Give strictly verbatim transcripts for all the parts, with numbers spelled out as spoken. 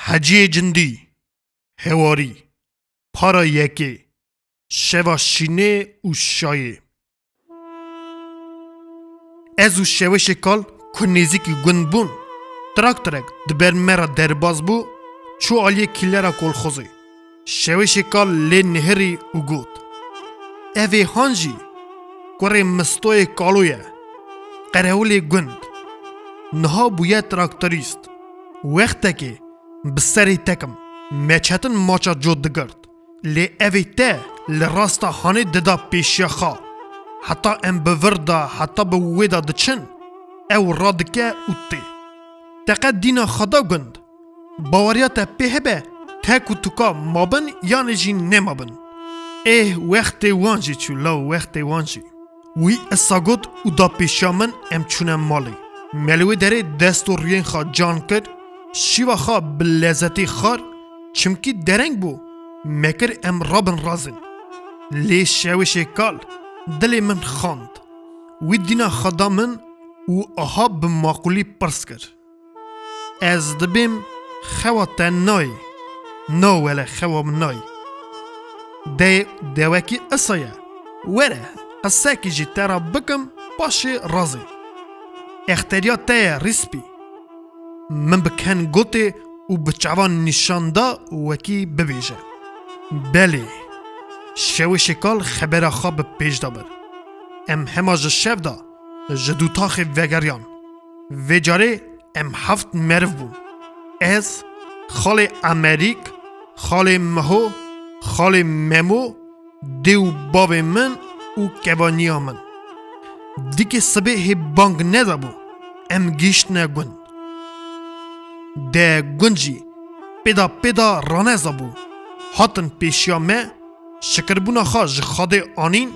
حجی جندی هواری پارا یکی شوا شینه و شایه از او شوا شکال که نزیکی گند بون ترک ترک دبر مرا درباز بو چو آلیه کلرا کل خوزی شوا شکال لی نهری و گود اوه هانجی کره مستوی کالویه قرهولی گند نها بویه تراکتوریست وقتا که بسری تکم مچهتن ماچا جود دگرد لی اوی ته لراستا هانه ددا پیشیا خوا حتی ام بوردا حتی بویدا دچن او رادکه اوتی تقد دینا خدا گند باوریات پیهبه تک و توکا مابن یا نجی نمابن اه وقت وانجی چو لاو وقت وانجی وی اساگود او دا پیشیا من ام چونم مالی ملوی داره دست و ریین خواه جان کرد شیوا خواه بلزتی خار چمکی درنگ بو مکر ام رابن رازن لی شوش کال دل من خاند وی دینا خدا من و آها بماقولی پرس کر از دبیم خوا تنای نو ولی خوا منای ده دوکی اصایه وره قصه که جی ترا بکم پاشه رازی اختیارات تای ریسپی من بکن گوته و بچوان نشانده وکی ببیجه بله شو شکال خبر خواب پیش دابر ام همه جشف دا جدوتاخ وگریان وجاره ام هفت مرف بون از خال امریک خال مهو خال ممو دیو باب من و کبانیا من دیگه صبح بانگ ندابو ام گیشت نگوند ده گنجی پیدا پیدا رانه زبو هاتن پیشیا مه شکربونا خواج خاده آنین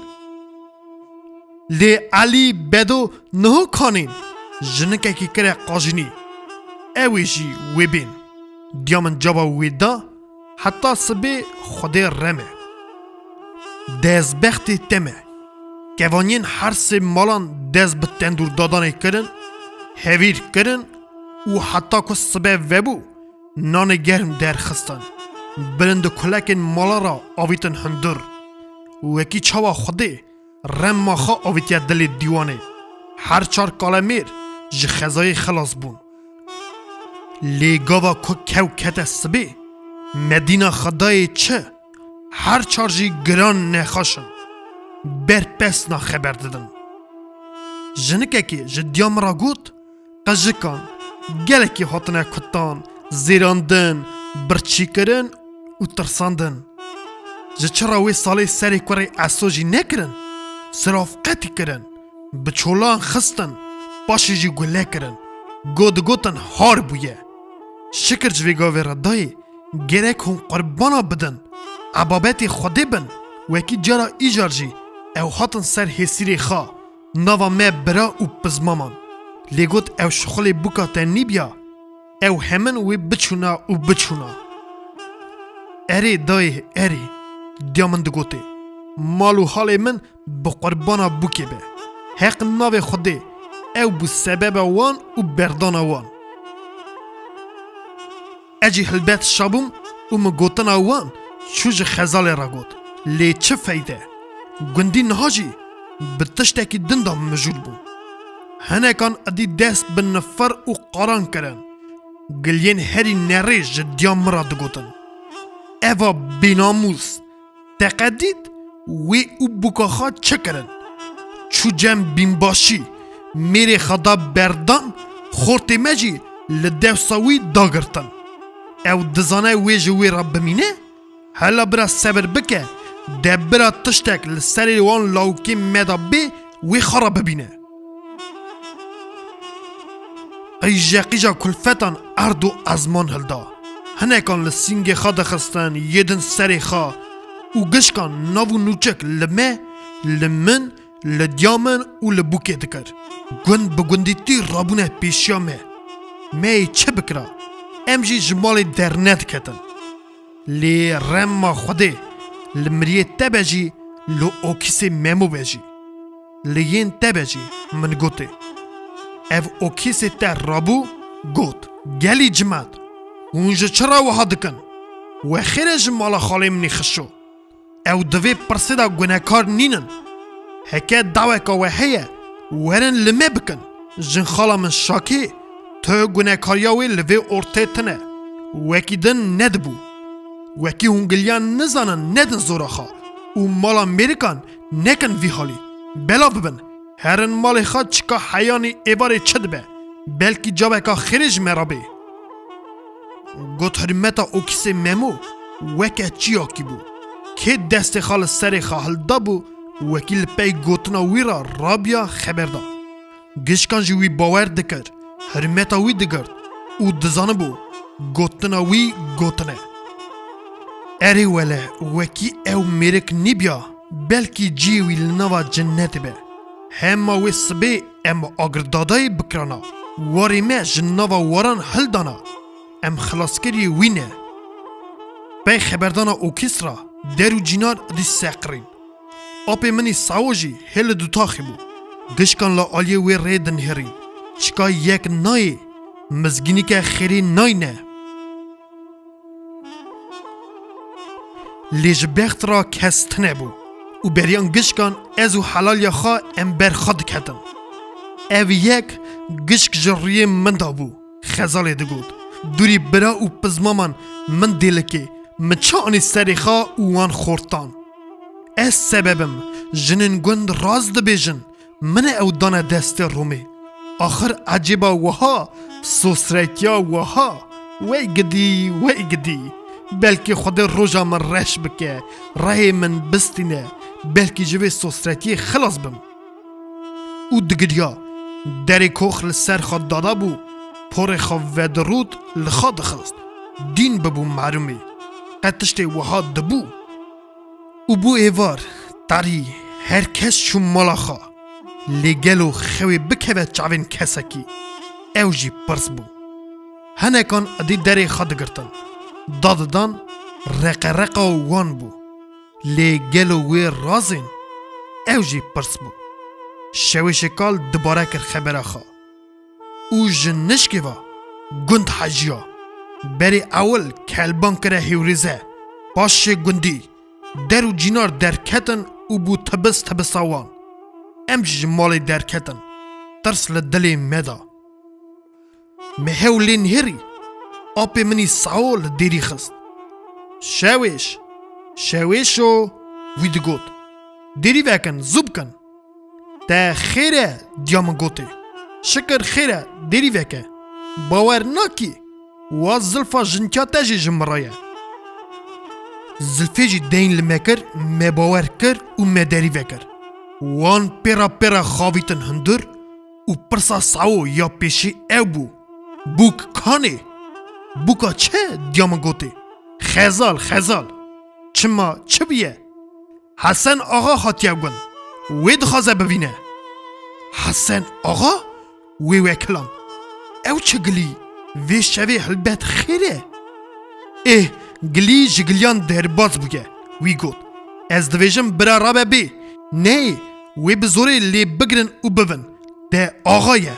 لی علی بدو نهو کانین جنکه کی کره قاجنی اوی جی وی بین دیامن جابا وی دا حتی سبه خوده رمه دز بختی تمه کوانین هر سه مالان دز به تندور دادانه کرن هویر کرن و حتی که سبه وبو نان گرم در خستن برند کلکن مالا را آویتن هندر و اکی چاوا خوده رم ماخا آویتیا دل دیوانه هر چار کالمیر جه خزای خلاص بون لیگاوا که کو کت سبه مدینه خدای چه هر چار جی گران نخاشن بر پس نا خبر دادن جنکه که جدیام را گوت قجکان گلکی هاتنه کتان زیراندن برچی کرن و ترساندن جه چرا وی سالی سری کوری اسوجی نکرن صرافقتی کرن بچولان خستن پاشی جی گله کرن گود گوتن هار بویه شکر جویگاوی را دای گرک هم قربانا بدن عبابتی خوده بن وکی جارا ایجار جی او هاتن سر حسیری خواه نوا مه برا و پزمامان لیگوت او شخلی بوکا تنی بیا او همن وی بچونا و بچونا اری دای اری دیامن دگوته مالو حال من بقربانا بوکی به حق ناو خوده او بو سبب وان و بردان وان اجی هلبت شابوم و مگوتن وان چوج خزال را گوت لی چه فایده گندی نهاجی بتشتکی دندام مجول بون هنه کان ادی دست به نفر و قران کرن گلین هری نریج جدیان مرا دگوتن ایوا بیناموز تقدید وی او بکاخا چه کرن چو جم بین باشی میری خدا بردان خورتی مجی لدو ساوی داگرتن او دزانه وی جوی را بمینه هلا برا صبر بکه ده برا تشتک لسری وان لاوکی مدا بی وی خرا ببینه ایجا قیجا کلفتان ارد و ازمان هلدا هنه کان لسینگ خاد خستن یدن سری خواه و گشکان ناو نوچک لمه لمن لدیامن و لبوکه دکر گوند بگوندی تی رابونه پیشیا مه مه چه بکرا ام جی جمال در ند کتن لی رم ما خوده لمریه تبجی لو اوکیس ممو بجی لیین تبجی من گوته اف اوکیس تر رابو گوت گلی جماد اونجا چرا وها دکن و خیرج مالا خاله منی خشو او دوی پرسیدا گناهکار نینن هکه دعوه که و هیه ورن لمه بکن جن خالا من شاکی تو گناهکاریاوی لوی ارته تنه وکی دن ندبو وکی هنگلیان نزانن ندن زوراخا و مال امریکان نکن وی حالی بلا ببن هرن مال خواد چکا حیانی ایوار چد به بلکی جاوه که خیرج مرابه گوت حرمتا اوکیسه ممو وکه چیا کی بو که دست خال سر خال دابو وکیل پی گوتنا ویرا رابیا خبر دا گشکان جوی باور دکر حرمتا وی دگرد او دزانه بو گوتنا وی گوتنه اری وله وکی او میرک نیبیا بلکی جیوی لنوا جنت به همه وی سبه ام آگردادای بکرانا واری ما جنوا واران حل دانا ام خلاصکری وینه پی خبردانا اوکیس را درو جینار دی سقرین اپی منی ساوجی هل دوتاخی بو گشکان لا آلیه وی ریدن هرین چکا یک نای مزگینی که خیری نای نه لیج بخت را کستنه بو و بریان گشکان ازو حلال یا خواه ام برخاد کتن او یک گشک جریه من دا بو خزاله دگود دوری برا و پزمامان من دیلکی من چانی سری خواه و وان خورتان از سببم جنن گند راز دبیجن من او دانه دست رومی آخر عجیبا وها سوسریتیا وها وی گدی وی گدی بلکه خود روژا من رش بکه رای من بستینه بلکه جوی سوسریتی خلاص بم او دگریا دری کوخ لسر خود دادا بو پر خواه و درود لخواد خست دین ببو معلومی قطشت وها دبو او بو ایوار تاری هر کس چون مالا خواه لگلو خوی بکوه چاوین کسکی او جی پرس بو هنکان ادی دری خود گرتن داددان رق رقا وان بو لگلو وی رازین او جی پرس بو شوی شکال دباره کر خبره خواه او جنشکی و گند حجیا بری اول کلبان کره هیوریزه باش گندی درو جینار درکتن او بو تبس تبساوان امج مالی درکتن ترس لدلی مدا مهولین هری آپی منی ساول دیری خست شویش شویشو وید گوت دیری وکن زوب کن تا خیره دیام گوته شکر خیره دیری وکه باور ناکی و زلفا جنکا تجی جمرایه زلفی جی دین لمکر مباور کر و مداری وکر وان پیرا پیرا خاویتن هندر و پرسا ساو یا پیشی او بو بوک کانه بوکا چه دیام گوته خزال خزال چما چه بیه حسن آقا خاطیه گون وی دخوازه ببینه حسن آقا وی وکلان او چه گلی وی شوی حلبت خیره اه گلی جگلیان درباز بگه وی گوت از دویجم برا رابه بی نه وی بزوری لی بگرن و ببن ده آقایه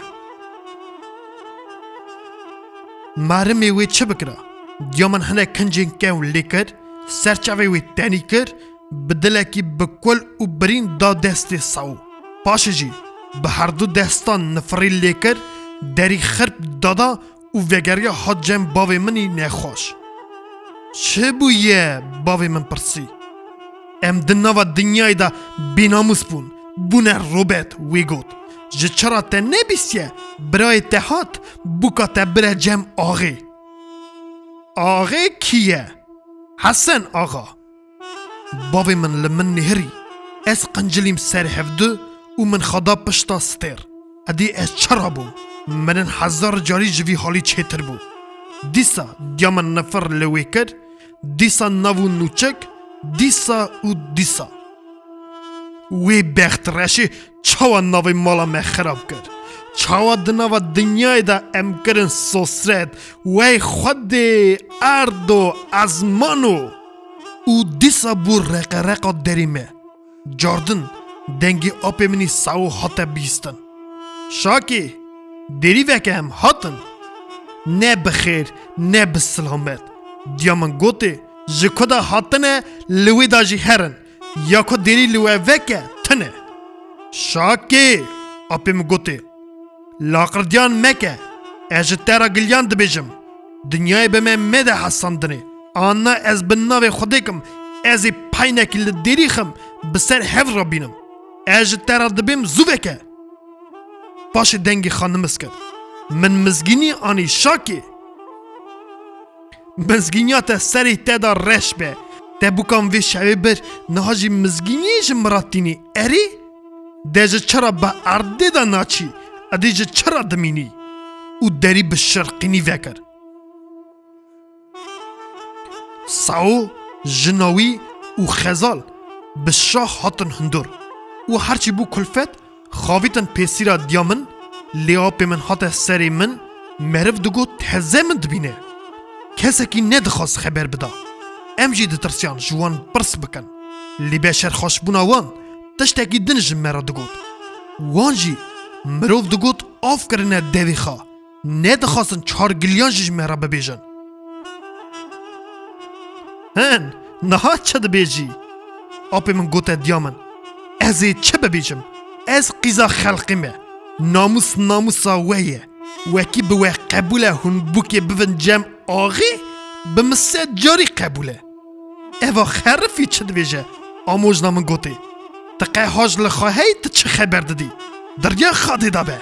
مرمی وی چه بکره دیامن هنه کنجین که و لیکر سرچاوی وی تانی کر بدلکی بکل و برین دا دست ساو پاشه جی به هر دو دستان نفری لیکر دری خرب دادا و وگریا حد جم باوی منی نخوش چه بویه باوی من پرسی ام دنوا دنیای دا بیناموس بون بونه روبت وی گوت جه چرا تا نبیسیه برای تهات بوکا تا بره جم آغی آغی کیه؟ حسن آغا باوی من لمن نهری از قنجلیم سر هفده و من خدا پشتا ستر ادی از چرا بو من هزار جاری جوی حالی چهتر بو دیسا دیامن نفر لوی کر دیسا نوو نوچک دیسا و دیسا وی بخت رشی چاوا نوی مالا me خراب کرد چاوا دنوا دنیای دا ام کرن سوسرد وی خود اردو ازمانو او دیسا بو رق رقا دریمه جاردن دنگی آپی منی ساو حتا بیستن شاکی دیری وکه هم حتن نه بخیر نه بسلامت دیامن گوته جکودا هاتنه لوی داجی هرن یا کو دیری لوی وکه تنه شاکی اپیم گوته لاقردیان مکه اجترا گلیان دبیجم دنیای به من مده حساندنه آنا از بناوی خودکم از پاینکی لدیریخم بسر هف را بینم اجترا دبیم زوبکه باش دنگی خانمس کرد من مزگینی آنی شاکی مزگینیات سری تدا رش به تبوکم وی شوی بر نهاجی مزگینیش مراتینی اری دیجه چرا با ارده دا ناچی ادیجه چرا دمینی او دری به شرقینی وکر ساو جناوی او خزال به شاه هاتن هندور او هرچی بو کلفت خاویتن پیسیرا دیامن لیا پی من هات سری من مرف دگو تهزه من دبینه کسی که ندخواست خبر بدا ام جی دترسیان جوان برس بکن لی بشر خوش بونا وان تشتاکی دنج مرا دگود وان جی مروف دگود آف کرنه دوی خواه ندخواستن چهار گلیان جیج مرا ببیجن هن نها چه دبیجی آپی من گوته دیامن ازی چه ببیجم از قیزا خلقیمه ناموس ناموسا ویه وکی بوه قبوله هون بوکی بون جم آغی بمسه جاری قبوله ایوا خرفی چه دویجه آموز نامن گوته تقه هاج لخواهی تا چه خبر دادی دریا خواهی دابه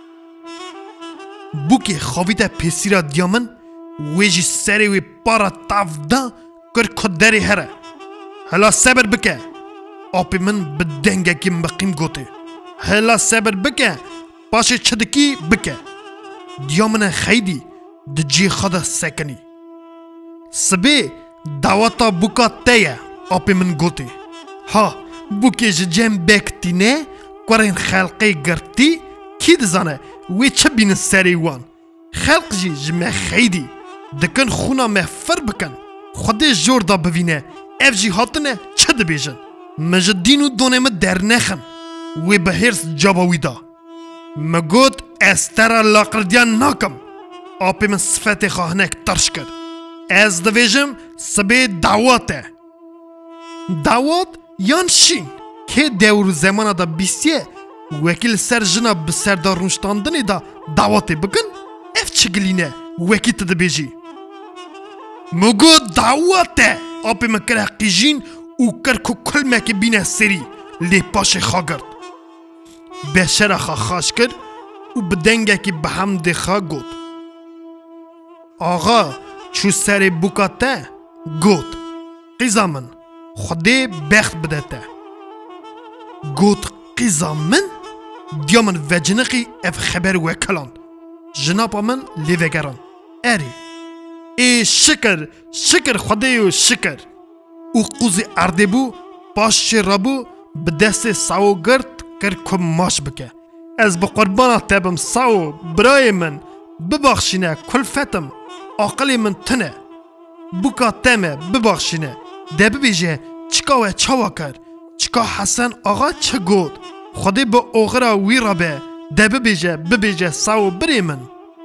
بوکی خواهیده پیسیرا دیامن ویجی سری وی پارا تاف دا کر کدری هره هلا صبر بکه آپی من بدنگه که مقیم گوته هلا صبر بکه پاشه چدکی بکه دیامن خیدی دجی خدا سکنی سبی دعوتا بوکا تیه آپی من گوته ها بوکی جم بکتی نه کورین خلقی گرتی کی دزانه وی چه بین سری وان خلق جی جمع خیدی دکن خونا مفر بکن خودی جور دا ببینه اف جی هاتنه چه دبیجن مجدینو دونه ما در نخن وی به هرس جاباوی دا مگود استرا لاقردیان ناکم آپی من صفت خواهنک ترش کرد از دویجم سبی دعواته دعوات یان شین که دور زمان دا بیسیه وکیل سر جنا بسر دا رونشتاندنی دا دعواته بکن اف چگلینه وکی تده بیجی مگو دعواته آپی من کره قیجین او کرکو کل مکی بینه سری لی پاش خاگرد بشر خا خاش کرد او بدنگه که به هم دخوا گود آقا چو سر بوکاته گود قیزا من خودی بخت بدته گود قیزا من دیا من وجنقی اف خبر وکلان جنابا من لی وگران اری ای شکر شکر خودی و شکر او قوزی ارده بو پاش رابو به دست ساو گرد کر کم ماش بکه از با قربانا تبم ساو برای من ببخشینه کلفتم عقلی من تنه بوکا تمه ببخشینه ده ببیجه چکا و چاوا کر چکا حسن آقا چه گود خودی با اوغرا وی را به ده ببیجه ببیجه ساو بری من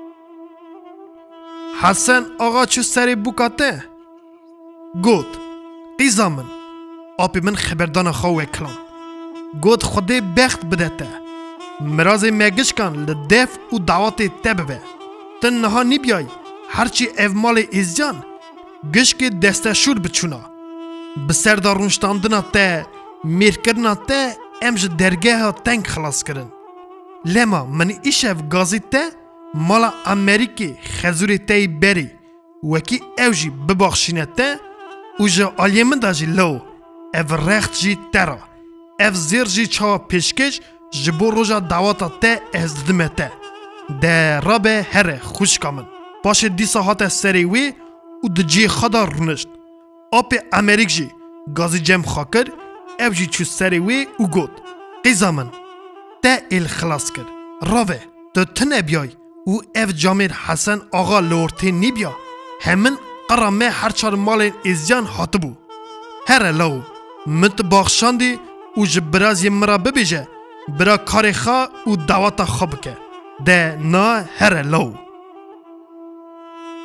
حسن آقا چو سری بوکا ته گود قیزا من آپی من خبردان خواهی کلان گود خودی بخت بدته مرازی مگش کن لدف و دعوت تبه تن نها نی بیای هرچی اومال ازیان گش که دسته شور بچونا بسر دارونشتاندنا ته میر کرنا ته امج درگه ها تنگ خلاص کرن لما من ایش اف گازی ته مالا امریکی خزوری ته بری وکی اوجی بباخشینه ته او جا آلیه من دا جی لو اف رخت جی ترا اف زیر جی چاوا پیشکش جبو روژا دعواتا ته از دمه ته ده رابه هره خوش کامن باشه دیسا هات سری وی او ده جی خدا رونشت آپ امریک جی گازی جم خاکر اف جی چو سری وی او گود قیزا من ته ایل خلاص کر راوه ده تنه بیای او اف جامیر حسن آقا لورتی نی بیا همین قرامه هر چار مال ازیان هاتبو هره لو مت باخشاندی او جبراز یم مرا ببیجه برا کاری خوا او دعوتا خواب که ده نا هره لو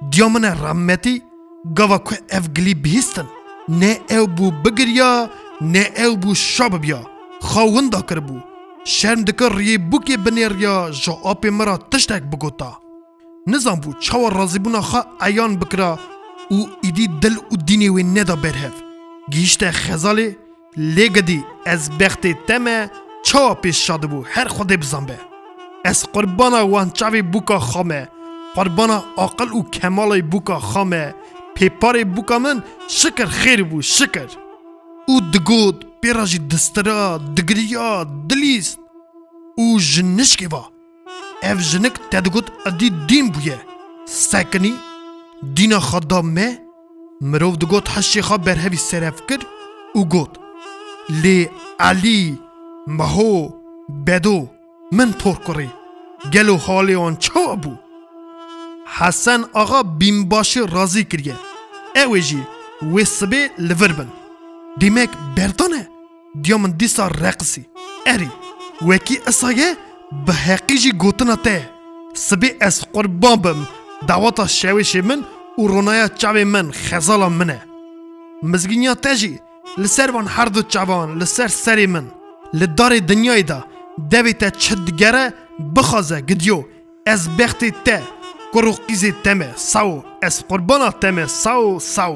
دیامن رحمتی گوا که اف گلی بهستن نه او بو بگریا نه او بو شاب بیا خاوندا کربو شرم دکر ری بوکی بنیریا جا آپی مرا تشتک بگوتا نظام بو چاور رازی بونا خوا ایان بکرا او ایدی دل و دینی وی ندا برهف گیشت خزالی لگدی از بخت تمه چاوا پیش شاده بو هر خود بزنبه از قربانا وان چاوی بوکا خامه قربانا عقل و کمال بوکا خامه پیپار بوکا من شکر خیر بو شکر او دگود پیراجی دسترا دگریا دلیست او جنشکی با اف جنک تدگود ادی دین بویه سکنی دینا خدا مه مروف دگود حشی خواه برهوی سرف کرد او گود لی علی مهو بدو من پر کری گلو حالی آن چا بو حسن آقا بیمباشی رازی کریه اوی جی ویسبه لور بن دیمک بردانه دیامن دیسا رقصی اری وکی اسایه به حقیقی گوتنا ته سبی از قربان بم دعوتا شویش من و رونایا چاوی من خزالا منه مزگینیا تجی لسر وان هر دو چاوان لسر سری من لدار دنیای دا دوی تا چدگره بخوازه گدیو از بختی ته کروقیزی تمه ساو از قربانا تمه ساو ساو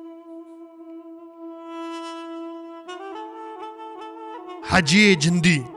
حجی جندی